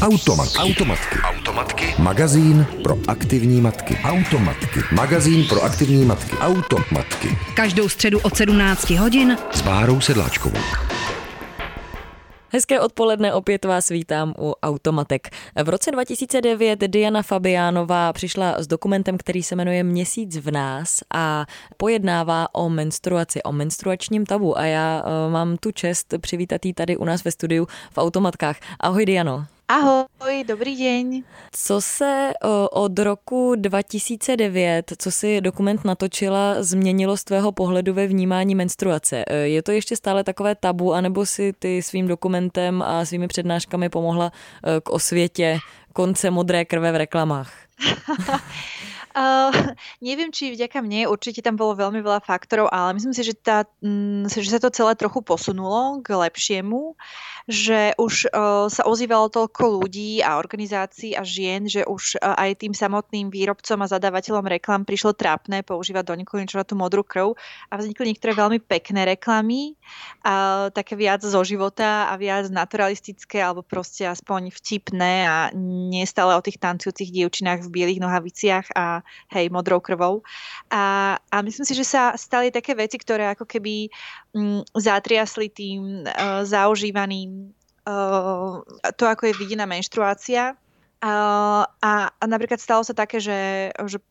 Automatky. Magazín pro aktivní matky. Automatky. Každou středu od 17 hodin S Bárou Sedláčkovou. Hezké odpoledne, opět vás vítám u Automatek. V roce 2009 Diana Fabiánová přišla s dokumentem, který se jmenuje Měsíc v nás a pojednává o menstruaci, o menstruačním tabu. A já mám tu čest přivítat jí tady u nás ve studiu v Automatkách. Ahoj Diano. Ahoj, dobrý deň. Co se od roku 2009, co si dokument natočila, změnilo z tvého pohledu ve vnímání menstruace? Je to ještě stále takové tabu, anebo si ty svým dokumentem a svými přednáškami pomohla k osvětě konce modré krve v reklamách? Neviem, či vďaka mne, určite tam bolo veľmi veľa faktorov, ale myslím si, že sa to celé trochu posunulo k lepšiemu, že už sa ozývalo toľko ľudí a organizácií a žien, že už aj tým samotným výrobcom a zadávateľom reklam prišlo trápne používať do nekonečna tú modrú krv a vznikli niektoré veľmi pekné reklamy, také viac zo života a viac naturalistické alebo proste aspoň vtipné a nie stále o tých tancujúcich dievčinách v bielých nohaviciach a hej, modrou krvou. A myslím si, že sa stali také veci, ktoré ako keby zatriasli tým zaužívaným to, ako je videná menštruácia. A napríklad stalo sa také, že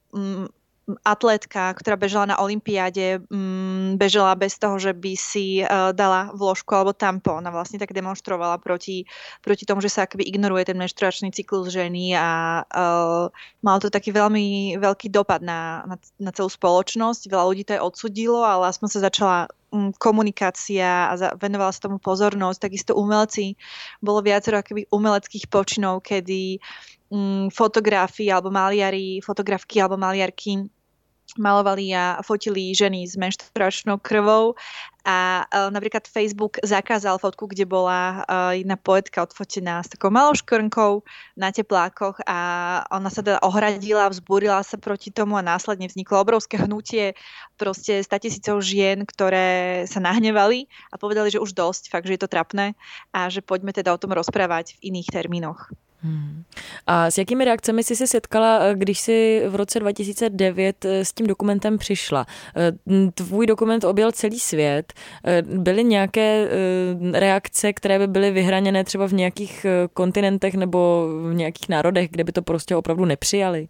atlétka, ktorá bežala na olympiáde, bežala bez toho, že by si dala vložku alebo tampón. Ona vlastne tak demonstrovala proti tomu, že sa akoby ignoruje ten menštruačný cyklus ženy a malo to taký veľmi veľký dopad na celú spoločnosť. Veľa ľudí to aj odsudilo, ale aspoň sa začala komunikácia a venovala sa tomu pozornosť. Takisto umelci, bolo viacero akoby umeleckých počinov, kedy fotografky alebo maliarky malovali a fotili ženy s menštruačnou krvou a napríklad Facebook zakázal fotku, kde bola jedna poetka odfotená s takou malou škrnkou na teplákoch a ona sa teda ohradila, vzbúrila sa proti tomu a následne vzniklo obrovské hnutie proste 100 000 žien, ktoré sa nahnevali a povedali, že už dosť, fakt, že je to trapné a že poďme teda o tom rozprávať v iných termínoch. A s jakými reakcemi jsi se setkala, když jsi v roce 2009 s tím dokumentem přišla? Tvůj dokument objel celý svět. Byly nějaké reakce, které by byly vyhraněné třeba v nějakých kontinentech nebo v nějakých národech, kde by to prostě opravdu nepřijali?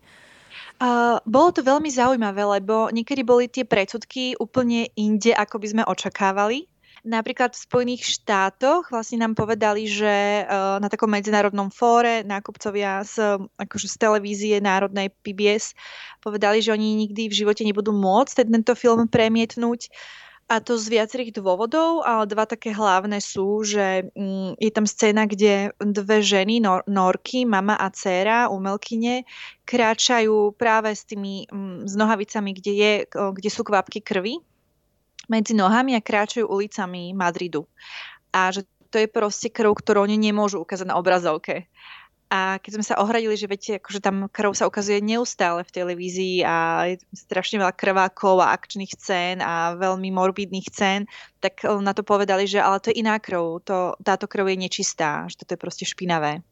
Bolo to veľmi zaujímavé, lebo niekedy boli tie predsudky úplne inde, ako by sme očakávali. Napríklad v Spojených štátoch vlastne nám povedali, že na takom medzinárodnom fóre nákupcovia z televízie národnej PBS povedali, že oni nikdy v živote nebudú môcť tento film premietnúť. A to z viacerých dôvodov, ale dva také hlavné sú, že je tam scéna, kde dve ženy, norky, mama a dcéra, umelkyne, kráčajú práve s tými s nohavicami, kde sú kvapky krvi medzi nohami a kráčajú ulicami Madridu. A že to je proste krv, ktorú oni nemôžu ukázať na obrazovke. A keď sme sa ohradili, že viete, akože tam krv sa ukazuje neustále v televízii a je strašne veľa krvákov a akčných scén a veľmi morbidných scén, tak na to povedali, že ale to je iná krv, táto krv je nečistá, že toto je proste špinavé.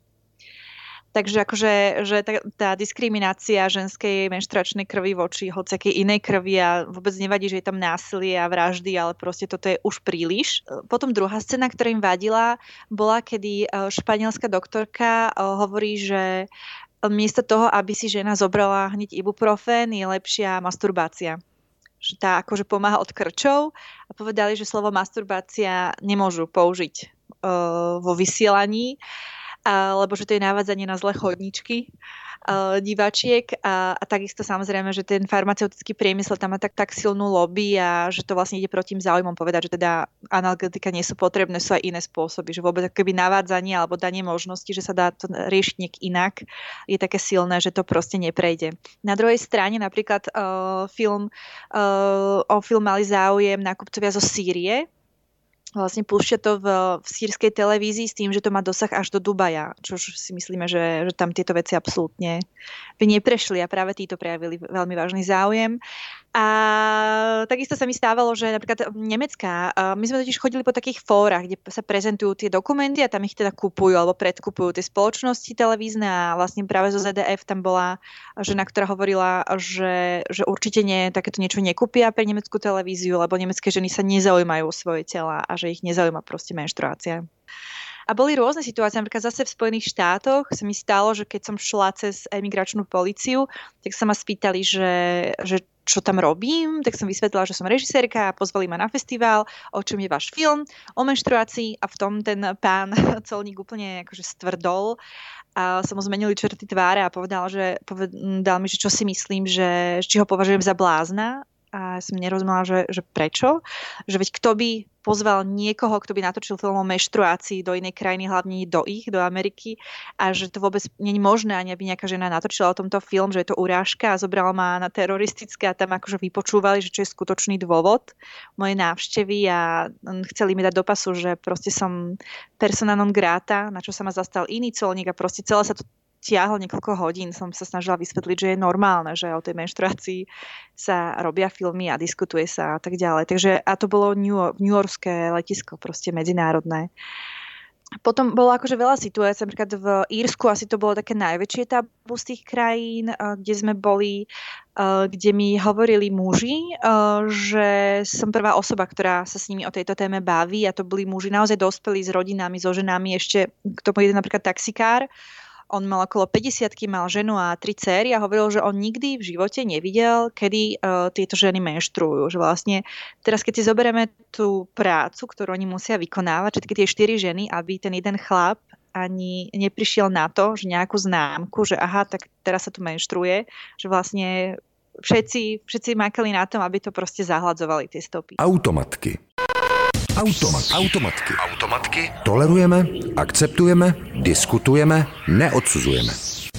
Takže akože že tá diskriminácia ženskej menštruačnej krvi voči hociakej inej krvi a vôbec nevadí, že je tam násilie a vraždy, ale proste toto je už príliš. Potom druhá scéna, ktorá im vadila, bola, kedy španielská doktorka hovorí, že miesto toho, aby si žena zobrala hneď ibuprofén, je lepšia masturbácia. Že tá akože pomáha od krčov a povedali, že slovo masturbácia nemôžu použiť vo vysielaní, lebo že to je navádzanie na zlé chodničky diváčiek a takisto samozrejme, že ten farmaceutický priemysel tam má tak silnú lobby a že to vlastne ide proti tým záujmom povedať, že teda analgetika nie sú potrebné, sú aj iné spôsoby, že vôbec akoby navádzanie alebo danie možnosti, že sa dá to riešiť nejak inak, je také silné, že to proste neprejde. Na druhej strane napríklad o film mali záujem nákupcovia zo Sýrie, vlastne púšťa to v sýrskej televízii s tým, že to má dosah až do Dubaja, čo si myslíme, že tam tieto veci absolútne by neprešli a práve títo prejavili veľmi vážny záujem. A takisto sa mi stávalo, že napríklad nemecká, my sme totiž chodili po takých fórach, kde sa prezentujú tie dokumenty a tam ich teda kupujú alebo predkupujú tie spoločnosti televízne a vlastne práve zo ZDF tam bola žena, ktorá hovorila, že určite takéto niečo nekúpia pre nemeckú televíziu, lebo nemecké ženy sa nezaujímajú o svoje tela a že ich nezaujíma proste menštruácia. A boli rôzne situácie, napríklad zase v Spojených štátoch sa mi stalo, že keď som šla cez imigračnú políciu, tak sa ma spýtali, že čo tam robím, tak som vysvetlila, že som režisérka a pozvali ma na festival, o čom je váš film, o menštruácii a v tom ten pán colník úplne akože stvrdol a som mu zmenili črty tváre a povedal mi, že čo si myslím, že či ho považujem za blázna. A som nerozumela, že prečo. Že veď kto by pozval niekoho, kto by natočil film o menštruácii do inej krajiny, hlavne do Ameriky, a že to vôbec nie je možné, ani aby nejaká žena natočila o tomto film, že je to urážka a zobrala ma na teroristické a tam akože vypočúvali, že čo je skutočný dôvod mojej návštevy a chceli mi dať do pasu, že proste som persona non grata, na čo sa ma zastal iný colník a proste celé sa to tiahlo niekoľko hodín, som sa snažila vysvetliť, že je normálne, že o tej menštruácii sa robia filmy a diskutuje sa a tak ďalej. Takže a to bolo newyorské letisko, proste medzinárodné. Potom bolo akože veľa situácií, napríklad v Írsku asi to bolo také najväčšie tabu z tých krajín, kde sme boli, kde mi hovorili muži, že som prvá osoba, ktorá sa s nimi o tejto téme baví a to boli muži naozaj dospelí s rodinami, so ženami, ešte k tomu jeden napríklad taxikár. On mal okolo 50-ky, mal ženu a 3 céry a hovoril, že on nikdy v živote nevidel, kedy tieto ženy menštruujú. Že vlastne teraz, keď si zoberieme tú prácu, ktorú oni musia vykonávať, všetky tie 4 ženy, aby ten jeden chlap ani neprišiel na to, že nejakú známku, že aha, tak teraz sa tu menštruuje, že vlastne všetci makali na tom, aby to proste zahladzovali tie stopy. Automatky. Tolerujeme, akceptujeme, diskutujeme, neodsuzujeme.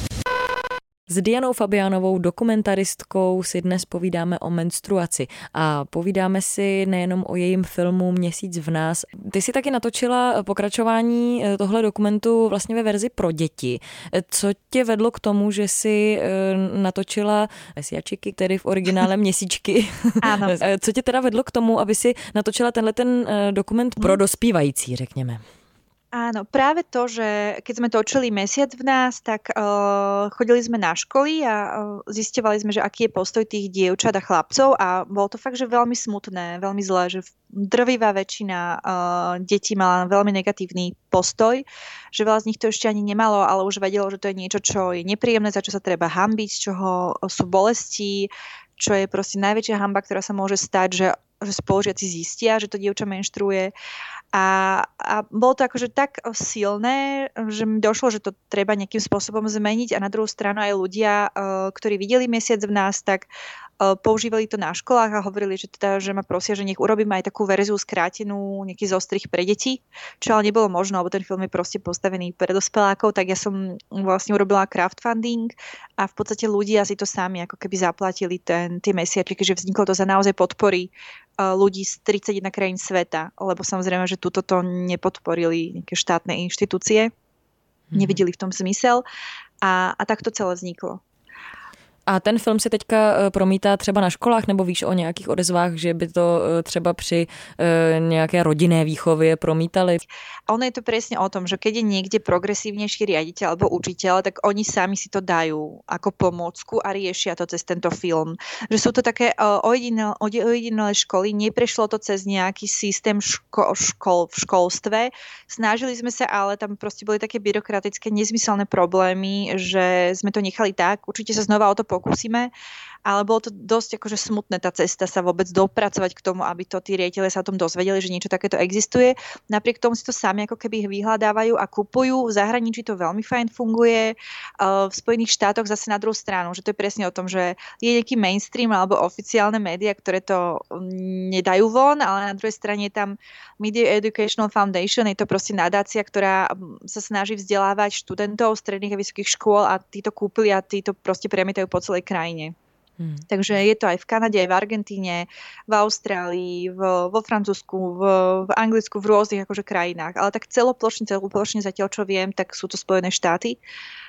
S Dianou Fabiánovou, dokumentaristkou, si dnes povídáme o menstruaci a povídáme si nejenom o jejím filmu Měsíc v nás. Ty si taky natočila pokračování tohle dokumentu vlastně ve verzi pro děti. Co tě vedlo k tomu, že si natočila mesiačiky, tedy v originále měsíčky? Áno. Co tě teda vedlo k tomu, aby si natočila tenhle ten dokument pro dospívající, řekněme? Áno, práve to, že keď sme točili Mesiac v nás, tak chodili sme na školy a zisťovali sme, že aký je postoj tých dievčat a chlapcov a bolo to fakt, že veľmi smutné, veľmi zlé, že drvivá väčšina detí mala veľmi negatívny postoj, že veľa z nich to ešte ani nemalo, ale už vedelo, že to je niečo, čo je nepríjemné, za čo sa treba hanbiť, z čoho sú bolesti, čo je proste najväčšia hanba, ktorá sa môže stať, že spolužiaci zistia, že to dievča menštruuje. A bolo to akože tak silné, že mi došlo, že to treba nejakým spôsobom zmeniť a na druhú stranu aj ľudia, ktorí videli Mesiac v nás, tak používali to na školách a hovorili, že ma prosia, že nech urobím aj takú verziu skrátenú, nejaký zostrih pre deti, čo ale nebolo možné, lebo ten film je proste postavený pre dospelákov, tak ja som vlastne urobila crowdfunding a v podstate ľudia si to sami ako keby zaplatili tie mesiačiky, že vzniklo to za naozaj podpory ľudí z 31 krajín sveta, lebo samozrejme, že túto to nepodporili nejaké štátne inštitúcie, nevideli v tom zmysel a tak to celé vzniklo. A ten film se teďka promítá třeba na školách, nebo víš o nějakých odezvách, že by to třeba při nějaké rodinné výchově promítali? Ono je to presne o tom, že keď je niekde progresívnejší riaditeľ alebo učiteľ, tak oni sami si to dajú ako pomôcku a riešia to cez tento film. Že sú to také ojedinelé školy, neprešlo to cez nejaký systém škol v školstve. Snažili sme sa, ale tam proste boli také byrokratické, nezmyselné problémy, že sme to nechali tak. Určite sa znova o to pokúsime, ale bolo to dosť akože smutné tá cesta sa vôbec dopracovať k tomu, aby to tí riaditelia sa o tom dozvedeli, že niečo takéto existuje. Napriek tomu si to sami ako keby vyhľadávajú a kupujú. V zahraničí to veľmi fajn funguje. V Spojených štátoch zase na druhú stranu, že to je presne o tom, že je nejaký mainstream alebo oficiálne médiá, ktoré to nedajú von, ale na druhej strane je tam Media Educational Foundation, je to proste nadácia, ktorá sa snaží vzdelávať študentov stredných a vysokých škôl a títo kúpili a títo proste premietajú po celej krajine. Takže je to aj v Kanade, aj v Argentíne, v Austrálii, vo Francúzsku, v Anglicku, v rôznych akože krajinách. Ale tak celoplošne zatiaľ, čo viem, tak sú to Spojené štáty.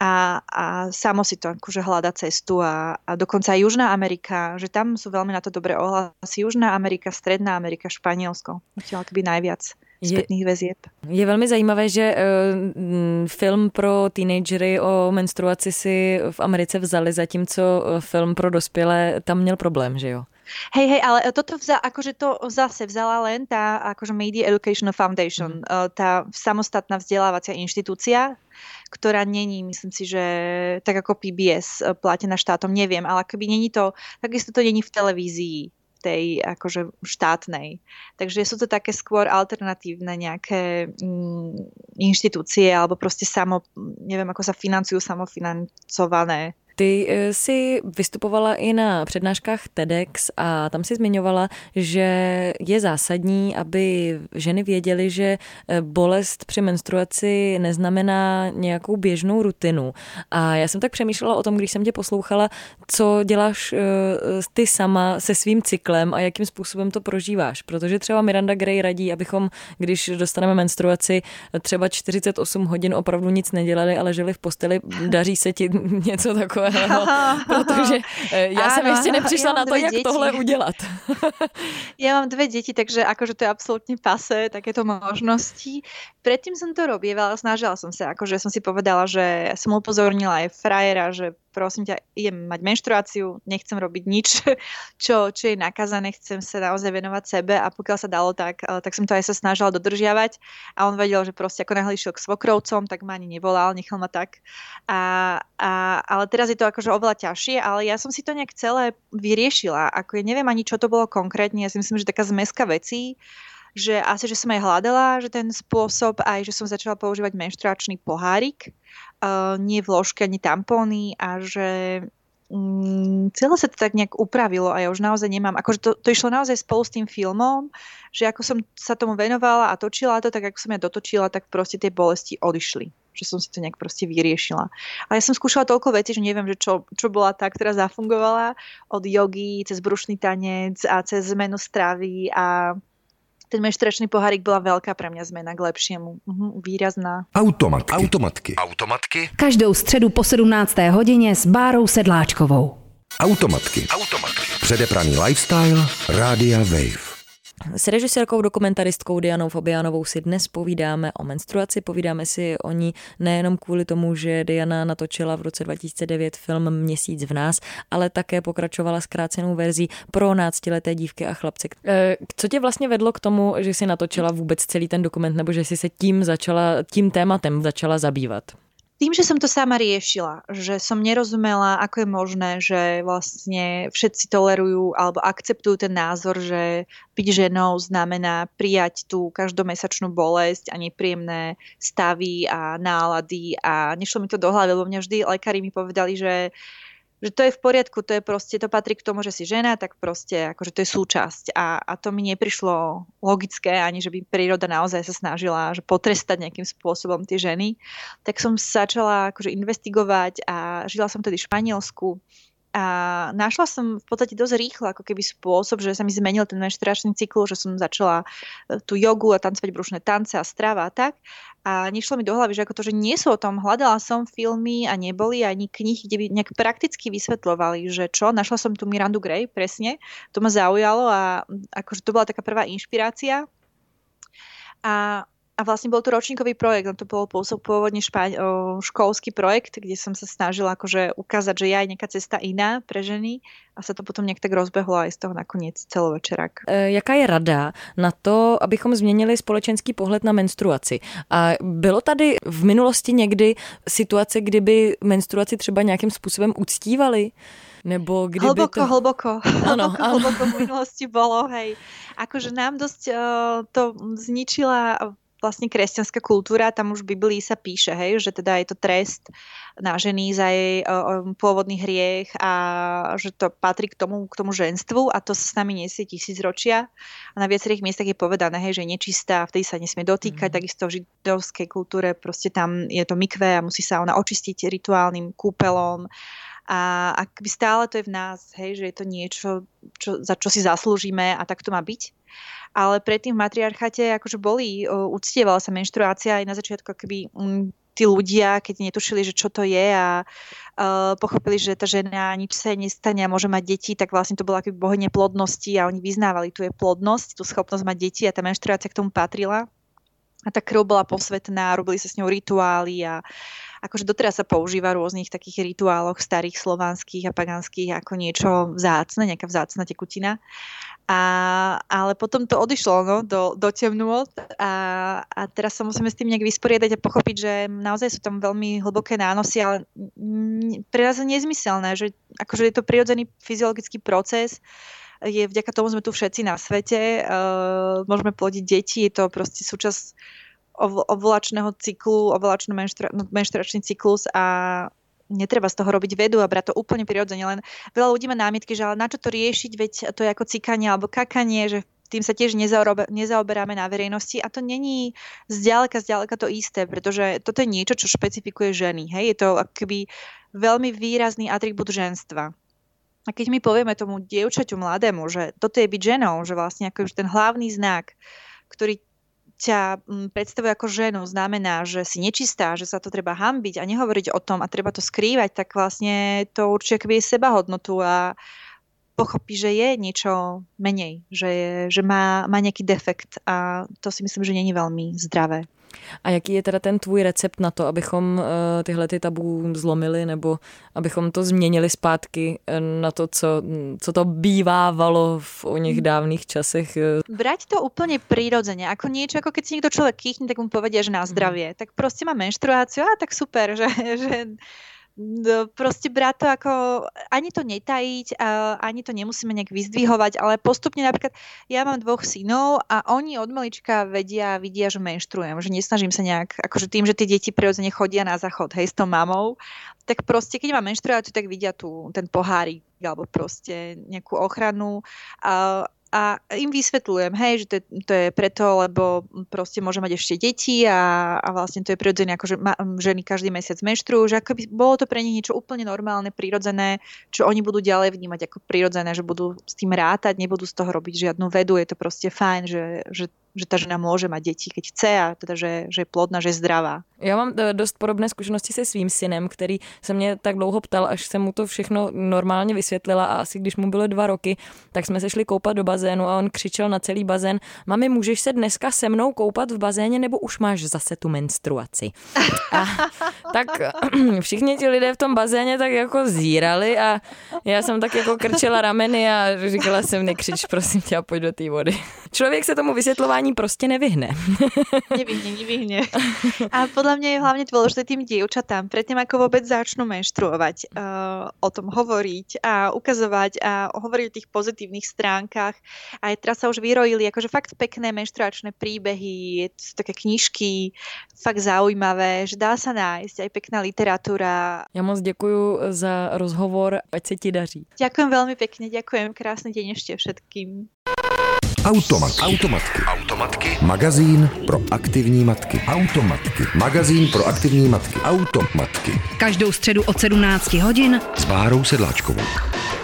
a samo si to akože hľada cestu a dokonca aj Južná Amerika, že tam sú veľmi na to dobré ohlasy. Južná Amerika, Stredná Amerika, Španielsko. Chtěla to byť najviac spätných väzieb. Je velmi zajímavé, že film pro teenagery o menstruaci si v Americe vzali, zatímco film pro dospělé tam měl problém, že jo? Hej, ale toto akože to zase vzala len tá akože Media Educational Foundation, tá samostatná vzdelávacia inštitúcia, ktorá není, myslím si, že tak ako PBS platená štátom, neviem, ale akoby není to, takisto to není v televízii tej akože štátnej. Takže sú to také skôr alternatívne nejaké inštitúcie alebo proste neviem, ako sa financujú, samofinancované. Ty jsi vystupovala i na přednáškách TEDx a tam si zmiňovala, že je zásadní, aby ženy věděly, že bolest při menstruaci neznamená nějakou běžnou rutinu. A já jsem tak přemýšlela o tom, když jsem tě poslouchala, co děláš ty sama se svým cyklem a jakým způsobem to prožíváš. Protože třeba Miranda Gray radí, abychom, když dostaneme menstruaci, třeba 48 hodin opravdu nic nedělali, ale žili v posteli. Daří se ti něco takového? Protože ja som ešte neprišla na to, jak tohle udělat. Ja mám 2 deti, takže akože to je absolútne pasé, takéto možnosti. Predtým som to robievala, snažila som sa, akože som si povedala, že som upozornila aj frajera, že prosím ťa, idem mať menštruáciu, nechcem robiť nič, čo je nakazané, chcem sa naozaj venovať sebe a pokiaľ sa dalo, tak som to aj sa snažila dodržiavať a on vedel, že proste ako náhle išiel k svokrovcom, tak ma ani nevolal, nechal ma tak. Ale teraz je to akože oveľa ťažšie, ale ja som si to nejak celé vyriešila. Ako ja neviem ani, čo to bolo konkrétne, ja si myslím, že taká zmeska vecí, že asi, že som aj hľadala, že ten spôsob, aj že som začala používať menštruačný pohárik, nie vložky ani tampóny a že celé sa to tak nejak upravilo a ja už naozaj nemám, akože to išlo naozaj spolu s tým filmom, že ako som sa tomu venovala a točila to, tak ako som ja dotočila, tak proste tie bolesti odišli. Že som si to nejak proste vyriešila. Ale ja som skúšala toľko vecí, že neviem, že čo bola tá, ktorá zafungovala od jogy, cez brušný tanec a cez zmenu stravy a ten menštruačný pohárik bola veľká pre mňa zmena k lepšiemu. Výrazná. Automatky. Každou středu po 17. hodině s Bárou Sedláčkovou. Automatky. Předepraný lifestyle Rádia Wave. S režisérkou, dokumentaristkou Dianou Fabiánovou si dnes povídáme o menstruaci, povídáme si o ní nejenom kvůli tomu, že Diana natočila v roce 2009 film Měsíc v nás, ale také pokračovala zkrácenou verzí pro 12leté dívky a chlapce. Co tě vlastně vedlo k tomu, že si natočila vůbec celý ten dokument, nebo že si se tím tématem začala zabývat? Tým, že som to sama riešila, že som nerozumela, ako je možné, že vlastne všetci tolerujú alebo akceptujú ten názor, že byť ženou znamená prijať tú každomesačnú bolesť a nepríjemné stavy a nálady a nešlo mi to do hlavy, lebo mňa vždy lekári mi povedali, že to je v poriadku, to je proste, to patrí k tomu, že si žena, tak proste akože to je súčasť a to mi neprišlo logické, ani že by príroda naozaj sa snažila že potrestať nejakým spôsobom tie ženy. Tak som začala akože investigovať a žila som tedy v Španielsku a našla som v podstate dosť rýchlo ako keby spôsob, že sa mi zmenil ten menštruačný cyklus, že som začala tú jogu a tancovať brušné tance a strava a tak. A nešlo mi do hlavy, že ako to, že nie sú o tom. Hľadala som filmy a neboli ani knihy, kde by nejak prakticky vysvetľovali, že čo. Našla som tu Mirandu Gray, presne. To ma zaujalo a akože to bola taká prvá inšpirácia. A vlastne bol to ročníkový projekt, to bol pôvodne školský projekt, kde som sa snažila akože ukázať, že je aj nejaká cesta iná pre ženy a sa to potom nejak tak rozbehlo aj z toho nakoniec celovečerák. Jaká je rada na to, abychom změnili společenský pohled na menstruaci? A bylo tady v minulosti někdy situace, kdyby menstruaci třeba nějakým způsobem uctívali? Nebo kdyby hlboko v minulosti bolo, hej. Akože nám dosť to zničila vlastne kresťanská kultúra, tam už v Biblii sa píše, hej, že teda je to trest na ženy za jej pôvodný hriech a že to patrí k tomu ženstvu a to sa s nami nesie tisícročia. A na viacerých miestach je povedané, hej, že je nečistá, vtedy sa nesmie dotýkať, takisto v židovskej kultúre proste tam je to mikve a musí sa ona očistiť rituálnym kúpelom. A akby stále to je v nás, hej, že je to niečo, za čo si zaslúžime a tak to má byť. Ale predtým v matriarcháte akože uctievala sa menštruácia aj na začiatku akoby tí ľudia, keď netušili, že čo to je a pochopili, že tá žena nič sa nestane a môže mať deti, tak vlastne to bola akoby bohyňa plodnosti a oni vyznávali tú jej plodnosť, tú schopnosť mať deti a tá menštruácia k tomu patrila. A tá krv bola posvetná, robili sa s ňou rituály a akože doteraz sa používa v rôznych takých rituáloch starých slovanských a paganských ako niečo vzácne, nejaká vzácna tekutina. Ale potom to odišlo do temnôt a teraz sa musíme s tým nejak vysporiadať a pochopiť, že naozaj sú tam veľmi hlboké nánosy, ale pre nás je nezmyselné, že akože je to prirodzený fyziologický proces, je vďaka tomu sme tu všetci na svete, môžeme plodiť deti, je to proste súčasť ovulačného cyklu, menštruačný cyklus a netreba z toho robiť vedu a brať to úplne prirodzene, len veľa ľudí má námietky, že ale na čo to riešiť, veď to je ako cikanie alebo kakanie, že tým sa tiež nezaoberáme na verejnosti a to není zďaleka to isté, pretože toto je niečo, čo špecifikuje ženy. Hej? Je to akoby veľmi výrazný atribút ženstva. A keď my povieme tomu dievčaťu mladému, že toto je byť ženou, že vlastne akože ten hlavný znak, ktorý ťa predstavuje ako ženu, znamená, že si nečistá, že sa to treba hanbiť a nehovoriť o tom a treba to skrývať, tak vlastne to určite akoby je sebahodnotu a pochopí, že je niečo menej, že má nejaký defekt a to si myslím, že není veľmi zdravé. A jaký je teda ten tvůj recept na to, abychom tyhle ty tabu zlomili nebo abychom to změnili zpátky na to, co to bývávalo v oných dávnych časech? Brať to úplne prirodzene, ako niečo, ako keď si niekto človek kýchne, tak mu povedia, že na zdravie. Tak proste má menštruáciu, a tak super, že proste brať to ako, ani to netajiť, ani to nemusíme nejak vyzdvihovať, ale postupne napríklad, ja mám 2 synov a oni od malička vidia, že menštruujem, že nesnažím sa nejak, akože tým, že tie deti prirodzene chodia na záchod, hej, s tou mamou, tak proste, keď mám menštruáciu, tak vidia ten pohárik, alebo proste nejakú ochranu a im vysvetľujem, hej, že to je preto, lebo proste môže mať ešte deti a vlastne to je prirodzené, ako že ženy každý mesiac menštruujú, že akoby bolo to pre nich niečo úplne normálne, prirodzené, čo oni budú ďalej vnímať ako prirodzené, že budú s tým rátať, nebudú z toho robiť žiadnu vedu, je to proste fajn, že tá žena môže mať deti, keď chce a teda, že je plodná, že je zdravá. Já mám dost podobné zkušenosti se svým synem, který se mě tak dlouho ptal, až jsem mu to všechno normálně vysvětlila a asi když mu bylo 2 roky, tak jsme se šli koupat do bazénu a on křičel na celý bazén: mami, můžeš se dneska se mnou koupat v bazéně, nebo už máš zase tu menstruaci? A tak všichni ti lidé v tom bazéně tak jako zírali a já jsem tak jako krčela rameny a říkala jsem: nekřič, prosím tě, a pojď do té vody. Člověk se tomu vysvětlování prostě nevyhne. Nevyhne. A podľa mňa je hlavne dôležité tým dievčatám, predtým ako vôbec začnú menštruovať, o tom hovoriť a ukazovať a hovoriť o tých pozitívnych stránkach. A teraz sa už vyrojili akože fakt pekné menštruačné príbehy, sú také knižky, fakt zaujímavé, že dá sa nájsť aj pekná literatúra. Ja moc ďakujem za rozhovor, ať sa ti daří. Ďakujem veľmi pekne, ďakujem, krásny deň ešte všetkým. Automatky. Magazín pro aktivní matky. Magazín pro aktivní matky. Automatky. Každou středu od 17 hodin s Bárou Sedláčkovou.